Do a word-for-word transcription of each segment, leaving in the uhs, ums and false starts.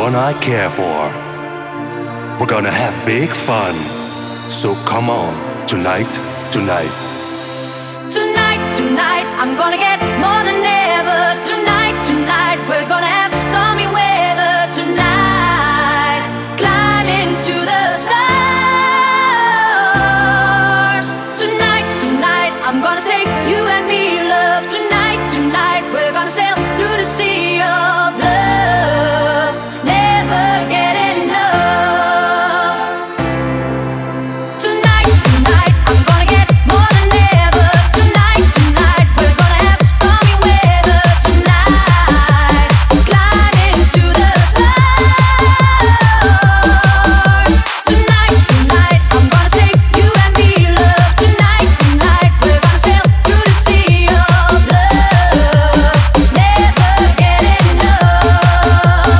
one I care for. We're gonna have big fun. So come on, tonight, tonight. Tonight, tonight, I'm gonna get more than ever. Tonight, tonight, we're gonna have stormy weather. Tonight, climb into the stars. Tonight, tonight, I'm gonna say you and me, love. Tonight, tonight, we're gonna sail through the sea of love. Never get enough. Tonight, tonight, I'm gonna get more than ever. Tonight, tonight, we're gonna have stormy weather. Tonight, climb into the stars. Tonight, tonight, I'm gonna say you and me, love. Tonight, tonight, we're gonna sail through the sea of love. Never get enough.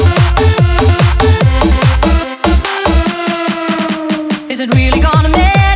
Is it really gonna matter?